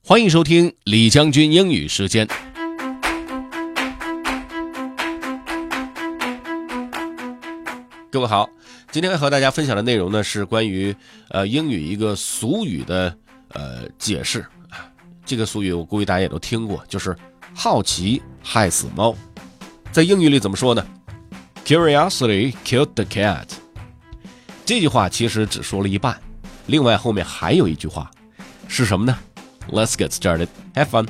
欢迎收听李将军英语时间。各位好，今天和大家分享的内容呢是关于英语一个俗语的解释。这个俗语我估计大家也都听过，就是好奇害死猫。在英语里怎么说呢？ Curiosity killed the cat。 这句话其实只说了一半，另外后面还有一句话，是什么呢？ Let's get started. Have fun.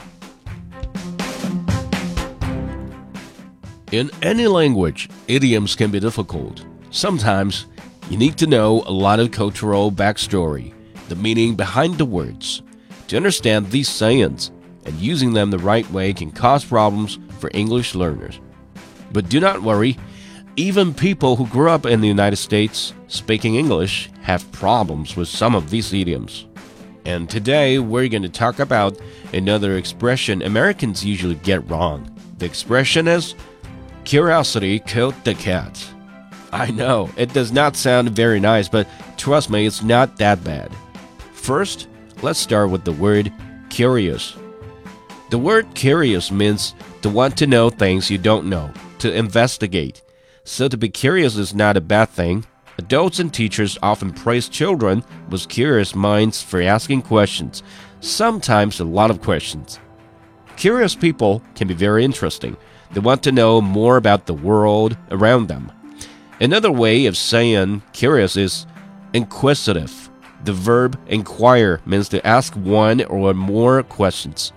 In any language, idioms can be difficult. Sometimes, you need to know a lot of cultural backstory, the meaning behind the words. To understand these sayings, and using them the right way can cause problems for English learners. But do not worry, even people who grew up in the United States speaking English have problems with some of these idioms. And today, we're going to talk about another expression Americans usually get wrong. The expression is, curiosity killed the cat. I know, it does not sound very nice, but trust me, it's not that bad. First, let's start with the word curious. The word curious means to want to know things you don't know, to investigate. So to be curious is not a bad thing. Adults and teachers often praise children with curious minds for asking questions, sometimes a lot of questions. Curious people can be very interesting. They want to know more about the world around them. Another way of saying curious is inquisitive. The verb inquire means to ask one or more questions.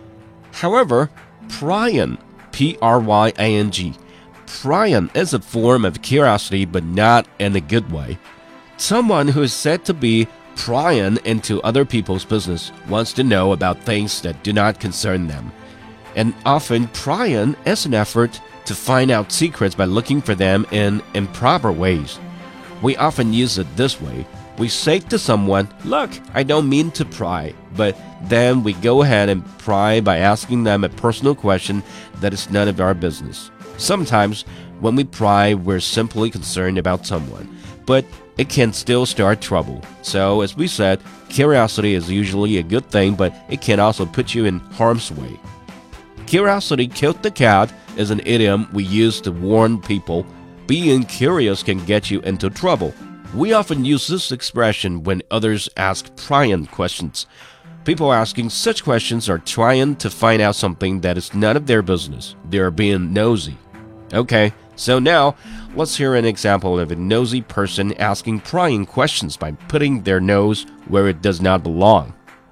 However, prying, P-R-Y-A-N-G, prying is a form of curiosity, but not in a good way. Someone who is said to be prying into other people's business wants to know about things that do not concern them. And often prying is an effort to find out secrets by looking for them in improper ways. We often use it this way. We say to someone, "Look, I don't mean to pry," but then we go ahead and pry by asking them a personal question that is none of our business. Sometimes, when we pry, we're simply concerned about someone, but it can still start trouble. So, as we said, curiosity is usually a good thing, but it can also put you in harm's way. Curiosity killed the cat is an idiom we use to warn people. Being curious can get you into trouble. We often use this expression when others ask prying questions. People asking such questions are trying to find out something that is none of their business. They are being nosy. Okay, so now let's hear an example of a nosy person asking prying questions by putting their nose where it does not belong.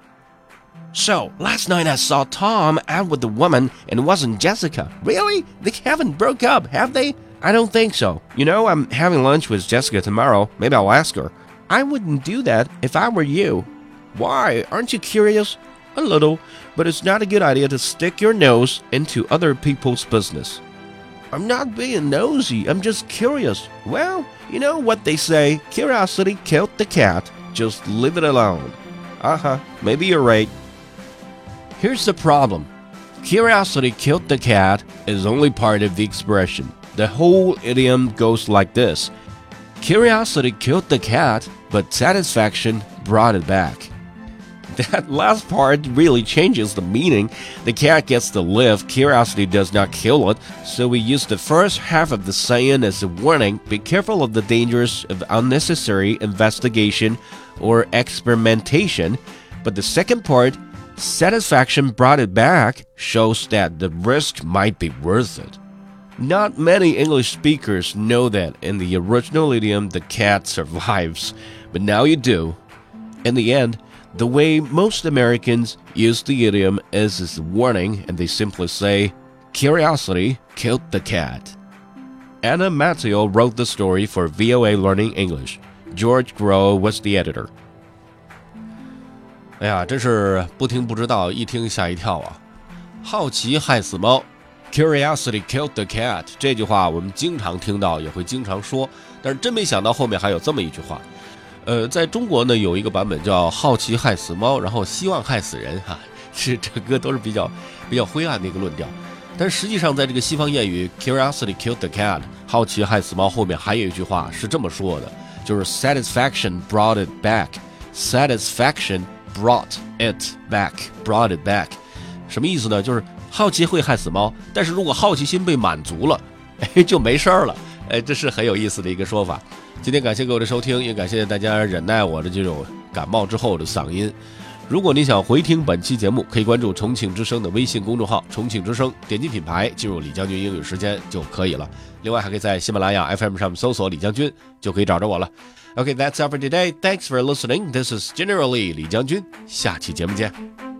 "So, last night I saw Tom out with a woman and it wasn't Jessica." "Really? They haven't broke up, have they?" "I don't think so. You know, I'm having lunch with Jessica tomorrow. Maybe I'll ask her." "I wouldn't do that if I were you." "Why? Aren't you curious?" "A little, but it's not a good idea to stick your nose into other people's business." "I'm not being nosy, I'm just curious." "Well, you know what they say, curiosity killed the cat. Just leave it alone." Maybe you're right. Here's the problem. Curiosity killed the cat is only part of the expression. The whole idiom goes like this. Curiosity killed the cat, but satisfaction brought it back. That last part really changes the meaning. The cat gets to live, curiosity does not kill it, so we use the first half of the saying as a warning. Be careful of the dangers of unnecessary investigation or experimentation. But the second part, satisfaction brought it back, shows that the risk might be worth it. Not many English speakers know that in the original idiom the cat survives, but now you do. In the end, the way most Americans use the idiom is as a warning, and they simply say, curiosity killed the cat. Anna Matteo wrote the story for VOA Learning English. George Grow was the editor. 哎呀，真是不听不知道，一听吓一跳啊！好奇害死猫 ，Curiosity killed the cat 这句话我们经常听到，也会经常说，但是真没想到后面还有这么一句话。在中国呢有一个版本叫好奇害死猫，然后希望害死人哈，是整个都是比较灰暗的一个论调。但实际上在这个西方谚语 Curiosity killed the cat 好奇害死猫后面还有一句话是这么说的，就是 Satisfaction brought it back。Satisfaction brought it back， 什么意思呢？就是好奇会害死猫，但是如果好奇心被满足了，就没事了。这是很有意思的一个说法。今天感谢各位的收听，也感谢大家忍耐我的这种感冒之后的嗓音。如果你想回听本期节目，可以关注重庆之声的微信公众号重庆之声，点击品牌进入李将军英语时间就可以了。另外还可以在喜马拉雅 FM 上面搜索李将军，就可以找着我了。Okay, that's all for today. Thanks for listening. This is Generally 李将军，下期节目见。